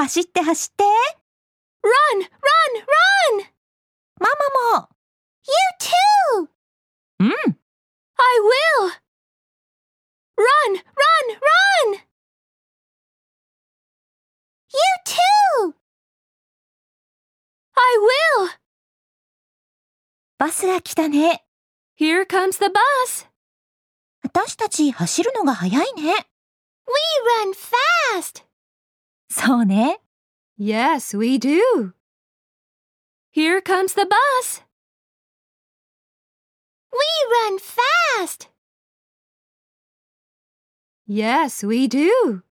走って走って。 Run, run, run! ママも。 You too! うん。 I will! Run, run, run! You too! I will! バスが来たね。 Here comes the bus. 私たち走るのが早いね。 We run fast. そうね。 Yes, we do. Here comes the bus. We run fast. Yes, we do.